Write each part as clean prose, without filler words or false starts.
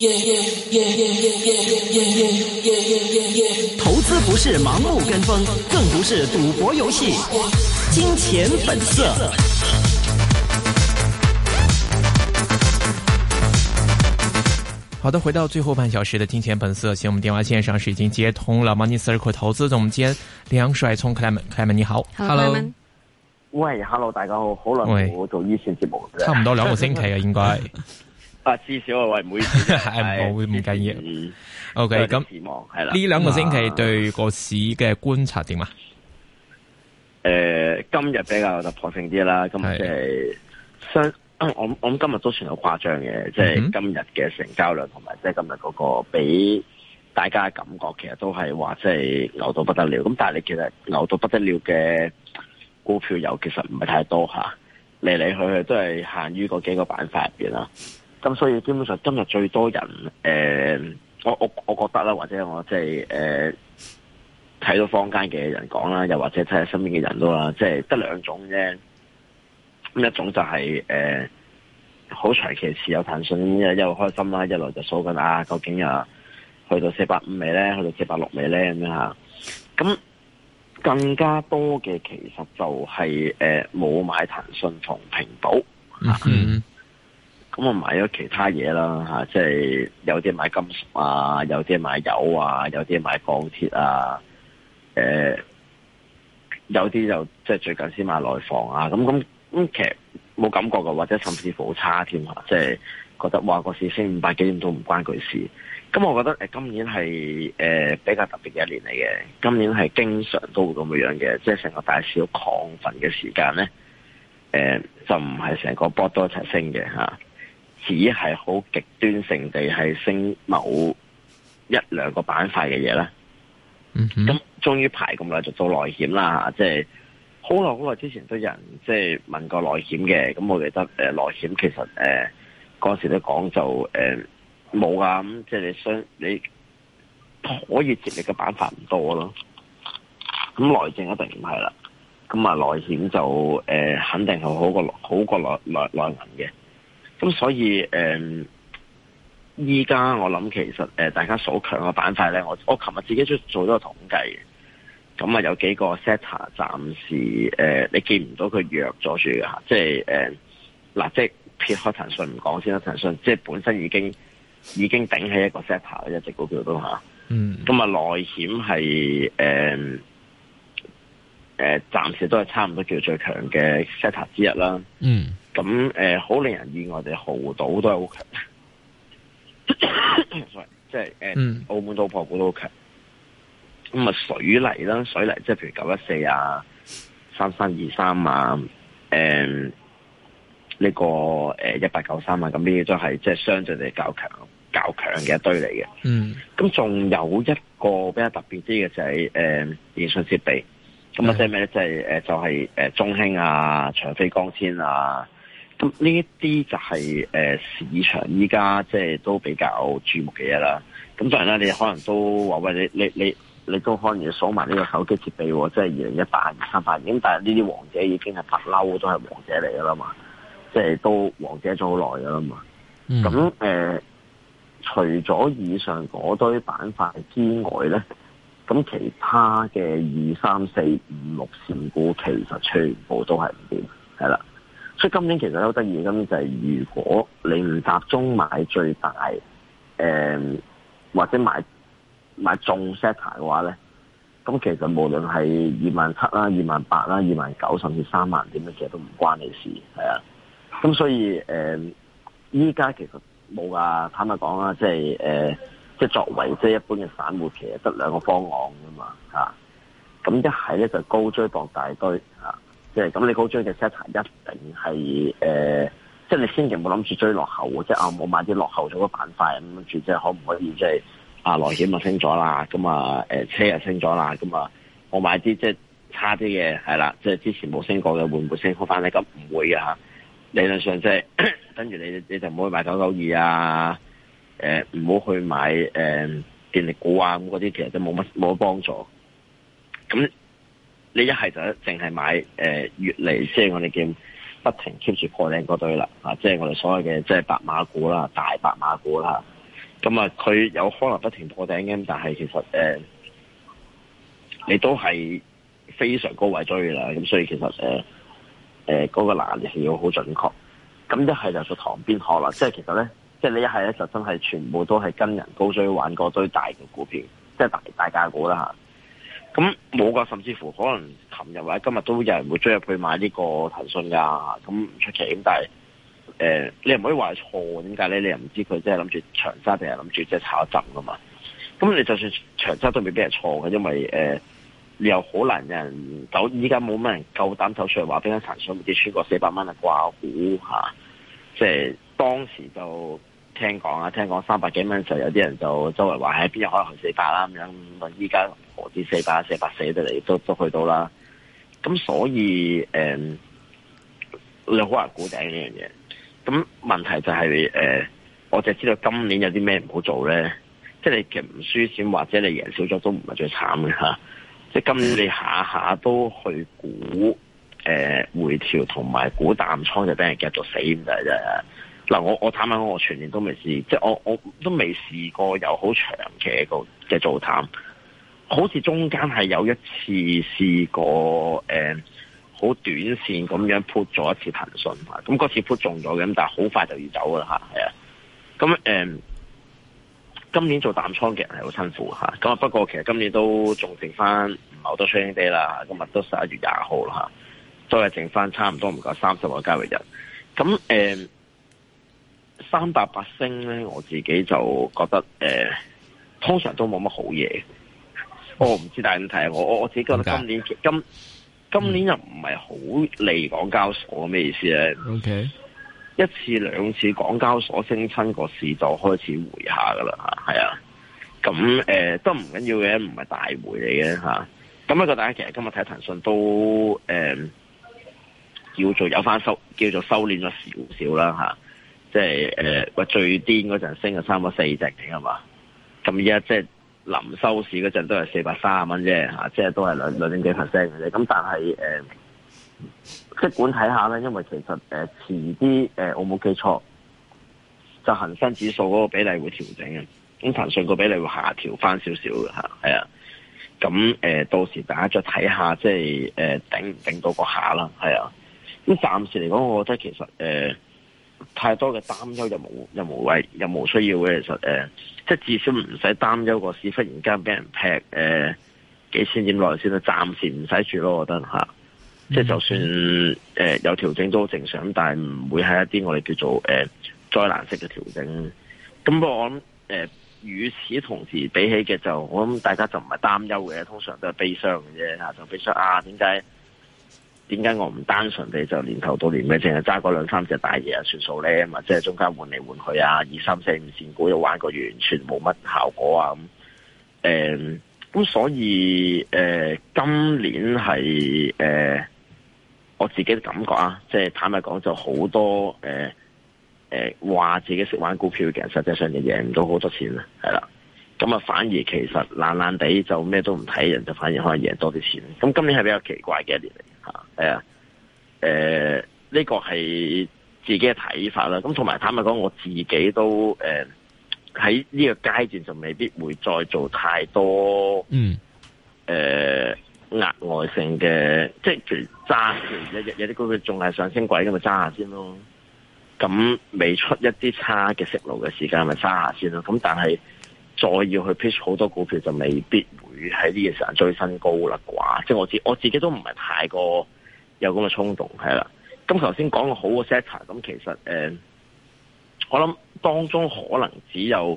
投資不是盲目跟風，更不是賭博遊戲。金錢本色。好的，回到最後半小時的金錢本色，現我們電話線上是已經接通了 Money Circle 投資總監梁帥聰 Clement 你好 ，Hello， 喂 ，Hello， 大家好，好耐冇做呢次節目， 差唔多2個星期啊，應該。 至少啊，喂，唔好意思， 係唔緊要。OK， 咁係啦， 呢2個星期對個市嘅觀察點啊？ 今日比較突破性啲啦，今日即係我諗今日都算好誇張嘅，即係今日嘅成交量同埋即係今日嗰個俾大家嘅感覺，其實都係話即係牛到不得了。咁但係你其實牛到不得了嘅股票又其實唔係太多吓，嚟嚟去去都係限於嗰幾個板塊入邊啦。咁所以基本上今日最多人，我覺得啦，或者我即係睇到坊間嘅人講啦，又或者睇下身邊嘅人都啦，即係得2種啫。咁一種就係好長期持有騰訊，一路開心啦，一路就數緊啊，究竟啊去到450未咧，去到460未咧咁樣吓。咁更加多嘅其實就係冇買騰訊同平保。咁我買咗其他嘢啦吓，即係有啲買金屬啊，有啲買油啊，有啲買鋼鐵啊，有啲就即係最近先買內房啊，咁其實冇感覺嘅，或者甚至乎好差添吓，即係覺得話個市升500幾點都唔關佢事。咁我覺得今年係比較特別嘅一年嚟嘅，今年係經常都會咁樣嘅，即係成個大市好亢奮嘅時間咧，就唔係成個波都一齊升嘅吓。只係好極端性地係升某1-2個板塊嘅嘢啦。咁終於排咁耐就做內險啦，即係好耐之前都有人即係問過內險嘅。咁我記得內險其實嗰時都講就冇噶，咁即係你可以接力嘅板塊唔多咯。咁內證一定唔係啦。咁啊內險就肯定係好過內銀嘅。咁所以依家我諗其實大家所強嘅板塊咧，我琴日自己做咗個統計嘅，咁啊有幾個 sector 暫時你見唔到佢弱咗住嘅吓，即係嗱，即係撇開騰訊唔講先啦，騰訊即係本身已經頂起一個 sector 嘅一隻股票都吓，咁啊內險係暫時都係差唔多叫最強嘅 sector 之一啦。咁好令人意外地，濠賭都係好強，即係澳門賭博股都好強。咁啊水泥啦，水泥即係譬如914啊、3323啊、呢個1893啊，咁呢啲都係即係相對地較強嘅一堆嚟嘅。咁仲有一個比較特別啲嘅就係電信設備。咁啊即係咩咧？即係就係中興啊、長飛光纖啊。咁呢一啲就係市場依家即係都比較注目嘅嘢啦。咁當然啦，你可能都話喂，你都可能要數埋呢個手機設備喎，即係2018、2038年。咁但係呢啲王者已經係不嬲都係王者嚟噶啦嘛，即係都王者咗好耐噶啦嘛。咁除咗以上嗰堆板塊之外咧，咁其他嘅2、3、4、5、6線股其實全部都係唔掂，係啦。所以今年其實好得意，今年就係如果你唔集中買最大，或者買中 sector 嘅話咧，咁其實無論係27,000啦、28,000啦、29,000甚至3萬點咧，其實都唔關你事，係啊。咁所以依家其實冇噶，坦白講啦，即係作為即係一般嘅散戶，其實得2個方案噶嘛嚇。咁一係咧就高追當大堆嚇。即係咁，你高追嘅 sector 一定係即係你千祈唔好諗住追落後，即係冇買啲落後咗嘅板塊咁，跟住即係可唔可以即係內險啊升咗啦，咁啊車啊升咗啦，咁啊我買啲即係差啲嘅係啦，即係之前冇升過嘅會唔會升好翻咧？咁唔會嘅嚇，理論上即係跟住你就唔好去買992啊，唔好去買電力股啊，咁嗰啲其實都冇乜幫助。咁你一係就淨係買月嚟，即係我哋叫不停 keep 住破頂嗰堆啦，即係我哋所謂嘅即係白馬股啦、大白馬股啦。 咁啊，佢有可能不停破頂嘅，但係其實你都係非常高位追啦，咁所以其實嗰個拿捏係要好準確。咁一係就做旁邊學啦，即係其實咧，即係你一係咧就真係全部都係跟人高追玩嗰堆大嘅股票，即係大價股啦嚇。咁冇噶，甚至乎可能琴日或者今日都有人會追入去買呢個騰訊噶，咁唔出奇。咁但係你又唔可以話係錯，點解咧？你又唔知佢即係諗住長揸定係諗住即係炒一陣噶嘛？咁你就算長揸都未必係錯嘅，因為你又好難有人依家冇乜人夠膽走出嚟話邊間騰訊跌穿過400蚊嘅掛股嚇，即係當時就聽講300幾蚊就有啲人就周圍話喺邊日可能去400啦咁樣，咁依家何止400、440得嚟都去到啦。咁所以你好難估頂呢樣嘢。咁問題就係我就知道今年有啲咩唔好做咧，即係你其實唔輸錢或者你贏少咗都唔係最慘嘅嚇。即係今年你下下都去估回調同埋估淡倉就俾人夾到死咁滯啫。嗱，我坦白講，我全年都未試，即係我都未試過有好長期嘅做淡，好似中間係有一次試過好短線咁樣 put 咗一次騰訊嚇，咁嗰次 put 中咗嘅，咁但係好快就要走啦嚇，係啊，咁今年做淡倉嘅人係好辛苦嚇，咁啊不過其實今年都仲剩翻唔係好多 trading day 啦，今日都11月20號啦嚇，都係剩翻差唔多唔夠30個交易日，咁388升咧，我自己就覺得通常都冇乜好嘢。我唔知大家點睇，我自己覺得今年又唔係好利港交所，咩意思咧 ？OK， 一次兩次港交所升親個市就開始回下噶啦嚇，係啊，咁都唔緊要嘅，唔係大回嚟嘅嚇。咁不過大家其實今日睇騰訊都叫做有翻叫做收斂咗少少啦嚇。即係最癲嗰陣升咗差唔多4隻嘅係嘛？咁而家即係臨收市嗰陣都係430蚊啫嚇，即係都係兩點幾%嘅啫。咁但係即管睇下啦，因為其實遲啲我冇記錯，就恒生指數嗰個比例會調整嘅，咁騰訊個比例會下調翻少少嘅嚇，係啊。咁到時大家再睇下，即係頂唔頂到個下啦，係啊。咁暫時嚟講，我覺得其實太多嘅擔憂又冇需要嘅，其實即係至少唔使擔憂個市忽然間俾人劈幾千點落嚟先啦，暫時唔使住咯，我覺得嚇。即係就算有調整都好正常，但係唔會係一啲我哋叫做災難式嘅調整。咁不過我諗與此同時比起嘅就，我諗大家就唔係擔憂嘅，通常都係悲傷嘅啫嚇，就悲傷啊點解我唔單純地就年頭到年尾淨係揸嗰2-3隻大嘢啊算數咧？或者係中間換嚟換去啊，2、3、4、5線股又玩個完全冇乜效果啊咁。咁所以今年係我自己嘅感覺啊，即係坦白講就好多話自己識玩股票嘅人，實際上就贏唔到好多錢啦，係啦。咁啊，反而其實懶懶地就咩都唔睇，人就反而可能贏多啲錢。咁今年係比較奇怪嘅一年嚟嚇，呢個係自己嘅睇法啦。咁同埋坦白講，我自己都喺呢個階段就未必會再做太多額外性嘅，即係譬如揸有啲股票仲係上升軌咁咪揸下先咯。咁未出一啲差嘅息路嘅時間咪揸下先咯。咁但係再要去 pitch 好多股票就未必會喺呢個時間追新高啦啩，即係我自己都唔係太過有咁嘅衝動係啦。咁頭先講個好嘅 sector， 咁其實我諗當中可能只有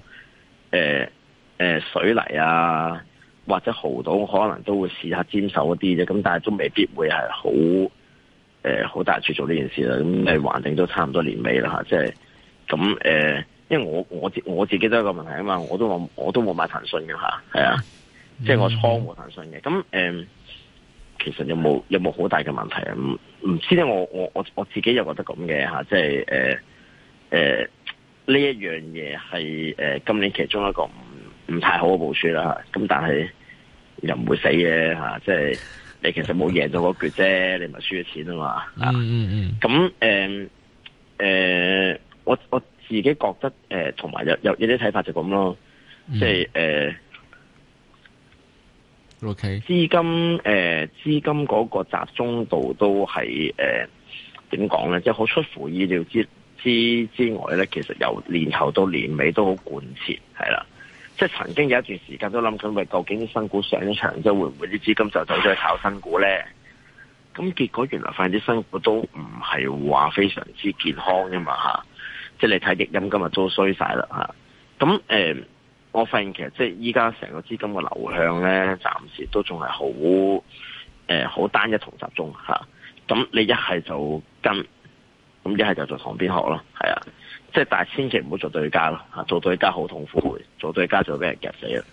水泥啊或者濠賭可能都會試下沾手一啲啫，咁但係都未必會係好大處做呢件事啦。咁橫掂都差唔多年尾啦嚇，即係咁因為我自己都有個問題啊嘛，我都冇買騰訊嘅嚇，係啊，即係我倉冇騰訊嘅。咁其實有冇好大嘅問題啊？唔知咧，我自己又覺得咁嘅嚇，即係呢一樣嘢係今年其中一個唔太好嘅部署啦。咁但係又唔會死嘅嚇，即係你其實冇贏到嗰橛啫，你咪輸咗錢啊嘛。咁我自己覺得同埋有啲睇法就咁咯，即係 OK 資金嗰個集中度都係點講咧？即係好出乎意料之外咧，其實由年頭到年尾都好貫徹，係啦。即係曾經有一段時間都諗緊，喂，究竟啲新股上咗場之後，會唔會啲資金就走咗去炒新股咧？咁結果原來發現啲新股都唔係話非常之健康㗎嘛嚇。即係你睇譯音今日都衰晒啦嚇。咁我發現其實即係依家成個資金嘅流向咧，暫時都仲係好單一同集中嚇。咁你一係就跟，咁一係就做旁邊學咯，係啊。即係但係千祈唔好做對家咯，做對家好痛苦，做對家就俾人夾死啦。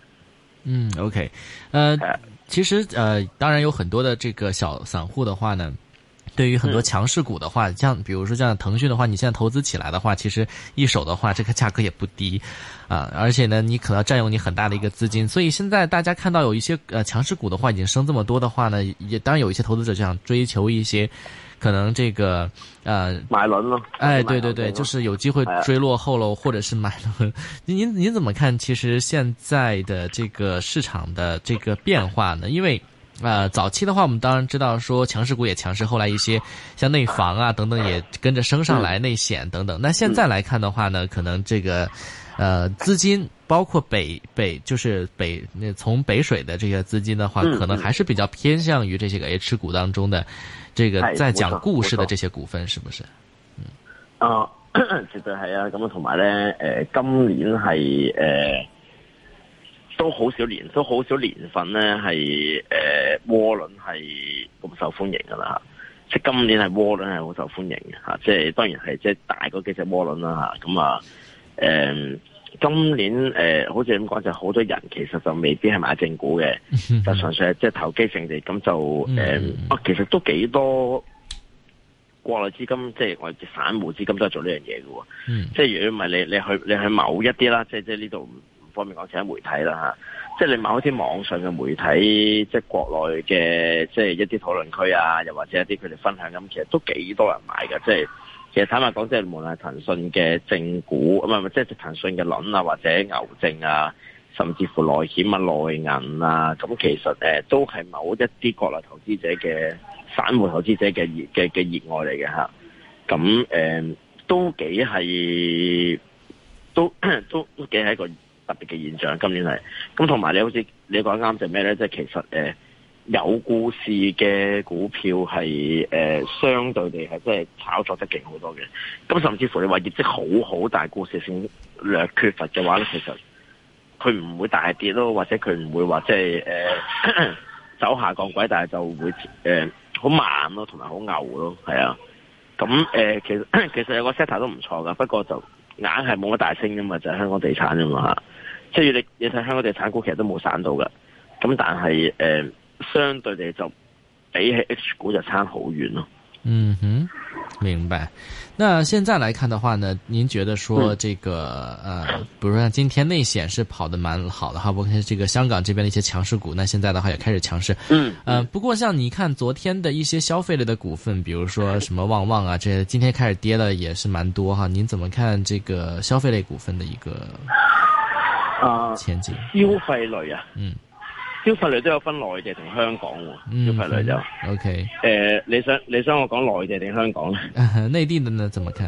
OK，其實當然有很多的這個小散戶的話呢，對於很多強勢股的話，像比如說像騰訊的話，你現在投資起來的話，其實一手的話，這個價格也不低啊，而且呢，你可能佔用你很大的一個資金，所以現在大家看到有一些強勢股的話，已經升這麼多的話呢，也當然有一些投資者就想追求一些可能這個買輪咯， 對，就是有機會追落後了，或者是買輪。您怎麼看？其實現在的這個市場的這個變化呢？因為早期的話，我們當然知道說強勢股也強勢，後來一些像內房啊等等也跟着升上來，內險等等。那現在來看的話呢，可能這個資金包括就是從北水的這個資金的話，可能還是比較偏向於這些個 H 股當中的這個在講故事的這些股份，是不是？ 絕對係啊！咁同埋咧，今年係都好少年份咧係窩輪係咁受歡迎噶啦，即係今年係窩輪係好受歡迎嘅吓，即係當然係即係大嗰幾隻窩輪啦吓，咁今年好似咁講就好多人其實就未必係買正股嘅，就純粹係即係投機性地咁就其實都幾多國內資金即係我哋散戶資金都係做呢樣嘢嘅喎，即係如果唔係你去某一啲啦，即係呢度唔方便講其他媒體啦嚇，即係你某一啲網上嘅媒體，即係國內嘅即係一啲討論區啊，又或者一啲佢哋分享咁，其實都幾多人買嘅，即係。其實坦白講，即係無論係騰訊嘅正股，唔係即係騰訊嘅輪啊，或者牛證啊，甚至乎內險啊、內銀啊，咁其實都係某一啲國內投資者嘅散戶投資者嘅熱愛嚟嘅嚇。咁都幾係都幾係一個特別嘅現象。今年係咁，同埋你好似你講啱就咩咧？即係其實有故事嘅股票係相對地係即係炒作得勁好多嘅，咁甚至乎你話業績好，但係故事性略缺乏嘅話咧，其實佢唔會大跌咯，或者佢唔會話即係走下降軌，但係就會好慢咯，同埋好牛咯，係啊。咁其實有個 set 都唔錯噶，不過就硬係冇乜大升噶嘛，就係香港地產啫嘛嚇。即係你睇香港地產股其實都冇散到噶，咁但係相對地就比起 H 股就差好遠咯。 嗯哼，明白。那現在來看的話呢，您覺得說這個比如說像今天內險是跑得蠻好的哈，包括這個香港這邊的一些強勢股，那現在的話也開始強勢。不過像你看昨天的一些消費類的股份，比如說什麼旺旺啊，這些今天開始跌了也是蠻多哈。您怎麼看這個消費類股份的一個前景？ 消費類啊，消費類都有分內地同香港喎，消費類就 OK。 你想我講內地定香港咧？ 內地的呢？怎麼看？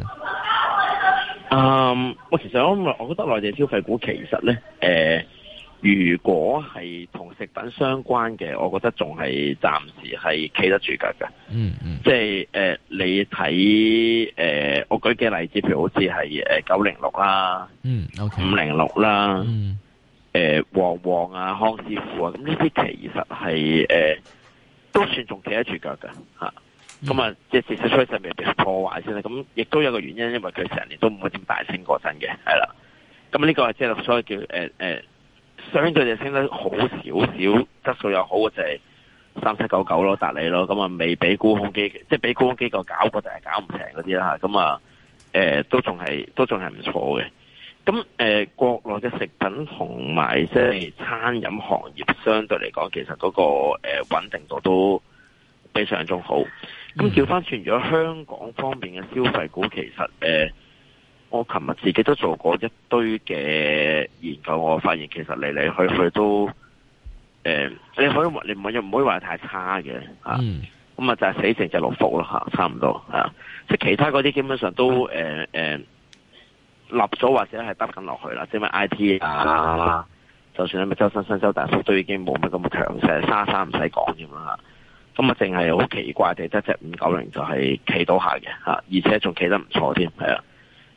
其實我覺得內地消費股其實咧，如果係同食品相關嘅，我覺得仲係暫時係企得住腳嘅。即係你睇我舉幾個例子，譬如好似係906啦，506啦。旺旺啊、康師傅啊，咁呢啲其實係都算仲企得住腳㗎嚇。咁啊，即係至少趨勢未被破壞先啦。咁亦都有個原因，因為佢成年都唔會點大升過陣嘅，係啦。咁呢個係即係所謂叫相對地升得好少少，質素又好嘅就係3799咯，達利咯。咁啊，未俾沽空機，即係俾沽空機構搞過，但係搞唔成嗰啲啦嚇。咁啊，都仲係唔錯嘅。咁國內嘅食品同埋即係餐飲行業相對嚟講，其實嗰個穩定度都比上中好。咁調翻轉，如果香港方面嘅消費股，其實我琴日自己都做過一堆嘅研究，我發現其實嚟嚟去去都你唔可以話太差嘅嚇。咁就係死剩就6幅咯嚇，差唔多係啊。即係其他嗰啲基本上都立咗或者係得緊落去啦，即係咩 I T 啊，就算係咪周生新周大福都已經冇乜咁強勢，沙唔使講添啦嚇。咁淨係好奇怪地，得隻590就係企到下嘅嚇，而且仲企得唔錯添，係啊。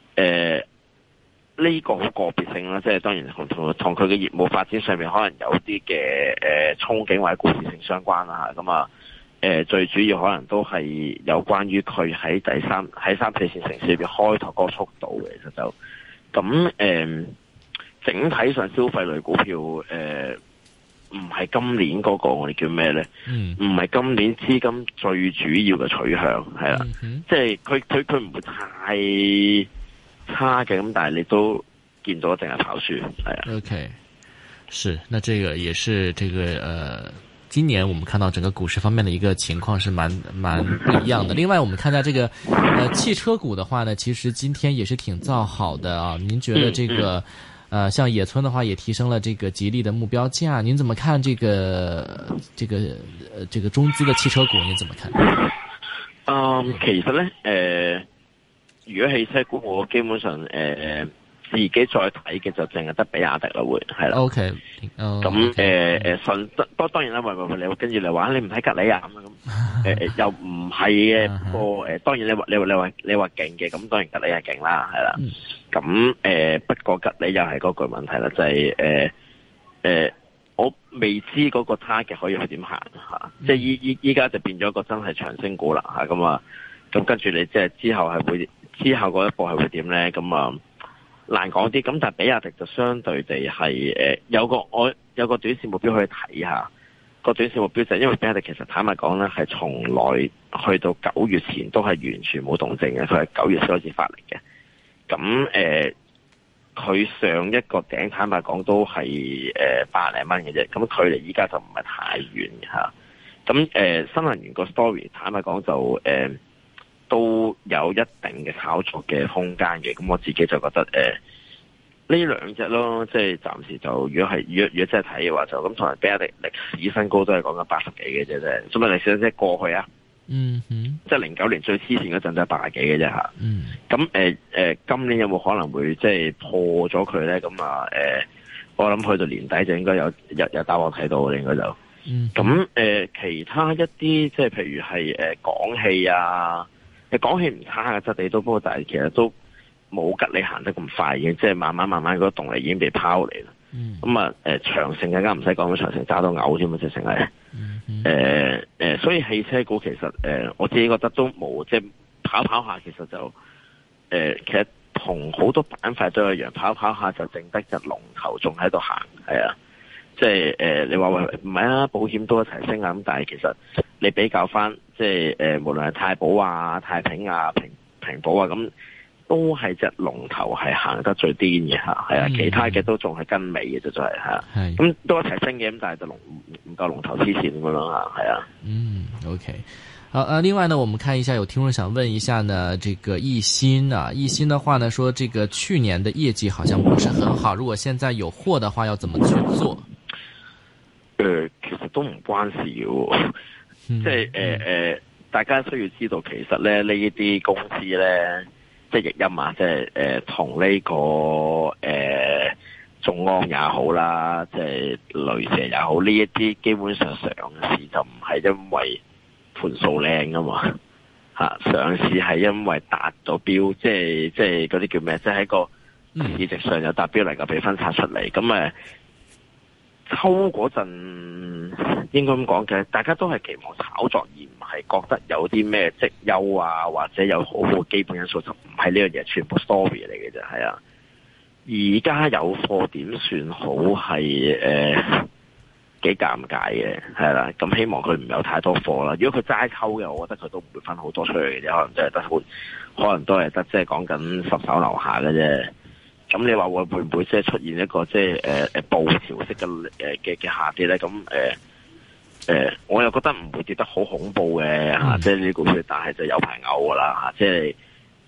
呢個好個別性啦，即係當然同佢嘅業務發展上面可能有啲嘅憧憬或者故事性相關啦嚇。咁啊最主要可能都係有關於佢喺3、4線城市裏邊開拓嗰個速度嘅，其實就咁整體上消費類股票唔係今年嗰個我哋叫咩咧？唔係今年資金最主要嘅取向係啦，即係佢唔會太差嘅，咁但係你都見到淨係跑輸係啊。 OK， 是，那這個也是這個今年我們看到整個股市方面的一個情況是蠻不一樣的。另外，我們看到這個汽車股的話呢，其實今天也是挺造好的啊。您覺得這個像野村的話也提升了這個吉利的目標價，您怎麼看這個中資的汽車股？您怎麼看？ 其實呢，如果汽車股我基本上自己再睇嘅就淨係得比亞迪啦，會係啦。 OK， 咁當然啦，你跟住你話你唔睇吉利啊咁又唔係嘅。不過當然你話勁嘅，咁當然吉利係勁啦，係啦。咁不過吉利又係嗰句問題啦，就係我未知嗰個 target 可以去點行嚇，即係依家就變咗一個真係長升股啦嚇。咁跟住你即係之後嗰一步係會點咧？咁難講啲，咁但係比亞迪就相對地係有個短線目標可以睇下。個短線目標就係因為比亞迪其實坦白講咧，係從來去到9月前都係完全冇動靜嘅，佢係9月先開始發力嘅。咁佢上一個頂坦白講都係百零蚊嘅啫，咁距離依家就唔係太遠嘅嚇。咁新能源個 story 坦白講就都有一定嘅炒作嘅空間嘅，咁我自己就覺得呢兩隻咯，即係暫時就如果真係睇嘅話，就咁同埋比亞迪歷史新高都係講緊80幾嘅啫，咁啊歷史即係過去啊，即係09年最黐線嗰陣都係80幾嘅啫嚇。咁今年有冇可能會即係破咗佢咧？咁我諗去到年底就應該有答案睇到嘅，應該就咁其他一啲即係譬如係廣汽啊。講起唔差嘅質地都，不過但係其實都冇吉利行得咁快嘅，即係慢慢嗰個動力已經被拋嚟啦。咁長城更加唔使講，長城揸到嘔添啊，直情係所以汽車股其實我自己覺得都冇，即係跑下其實就其實同好多板塊都一樣，跑下就淨得隻龍頭仲喺度行，係啊。即係你話喂唔係啊，保險都一齊升啊，咁但係其實你比較翻，即係無論係太保啊、太平啊、平保啊，咁都係隻龍頭係行得最癲嘅嚇，係啊，其他嘅都仲係跟尾嘅啫，就係嚇。咁都一齊升嘅，咁但係就唔夠龍頭黐線咁樣咯嚇，係啊。 OK。好，另外呢，我們看一下，有聽眾想問一下呢，這個易鑫啊，易鑫的話呢，說這個去年的業績好像不是很好，如果現在有貨的話，要怎麼去做？ 其實都唔關事嘅，即係大家需要知道，其實咧呢一啲公司咧，即係易鑫啊，即係同呢個眾安也好啦，即係雷蛇也好，呢一啲基本上上市就唔係因為盤數靚噶嘛，上市係因為達到標，即係嗰啲叫咩？即係喺個市值上有達標能夠被分拆出嚟，咁抽嗰陣應該咁講嘅，大家都係期望炒作，而唔係覺得有啲咩績優啊，或者有好好基本因素，就唔係呢樣嘢，全部 story 嚟嘅啫，係啊。而家有貨點算好係幾尷尬嘅，係啦。咁希望佢唔有太多貨啦。如果佢齋抽嘅，我覺得佢都唔會分好多出去嘅啫，可能真係得好，可能都係得即係講緊10手樓下嘅啫。咁你話會唔會即係出現一個即係暴潮式嘅下跌咧？咁我又覺得唔會跌得好恐怖嘅嚇，即係呢個股票，但係就有排嘔噶啦嚇，即係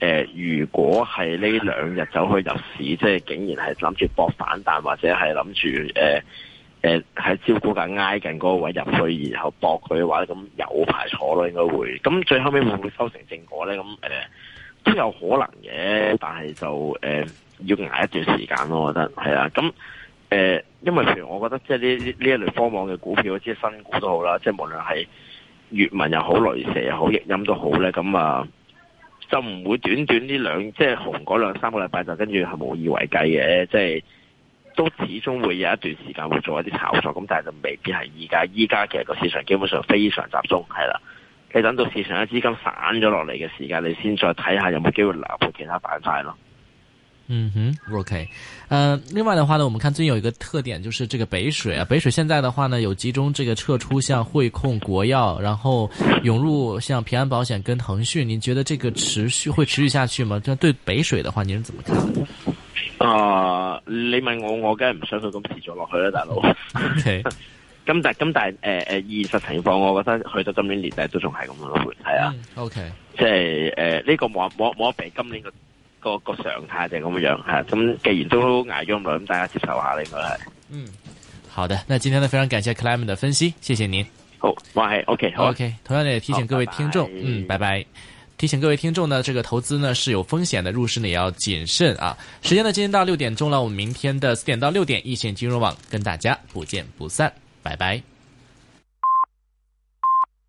如果係呢兩日走去入市，即係竟然係諗住搏反彈，或者係諗住喺招股價挨近嗰個位入去，然後搏佢嘅話，咁有排坐咯，應該會。咁最後尾會唔會收成正果咧？咁都有可能嘅，但係就要捱一段時間咯，我覺得係啊。咁因為譬如我覺得即係呢一類科網嘅股票，即係新股都好啦，即係無論係閱文又好、雷蛇又好、易鑫都好咧，咁啊就唔會短短呢即係紅嗰兩三個禮拜就跟住係無以為繼嘅，即係都始終會有一段時間會做一啲炒作，咁但係就未必係依家。依家其實個市場基本上非常集中，係啦。你等到市場嘅資金散咗落嚟嘅時間，你先再睇下有冇機會流去其他板塊咯。 嗯哼 ，OK，另外的話呢，我們看最近有一個特點，就是這個北水啊，北水現在的話呢，有集中這個撤出像匯控、國藥，然後湧入像平安保險跟騰訊，您覺得這個會持續下去嗎？這對北水的話，您是怎麼看的？ 你問我梗係唔想佢咁持續落去啦，大佬。 OK。 咁但係現實情況，我覺得去到今年年底都仲係咁樣咯，係啊。OK，即係呢個冇得比今年個常態就係咁樣係。咁既然都捱咗咁耐，咁大家接受下應該係。 好的，那今天呢非常感謝 Clement 的分析，謝謝您。 好，我係 OK，好 OK。同樣的也提醒各位聽眾，拜拜。提醒各位聽眾呢，這個投資呢是有風險的，入市呢也要謹慎啊。時間呢今天到6點鐘了，我們明天的4點到6點，一線金融網跟大家不見不散。拜拜。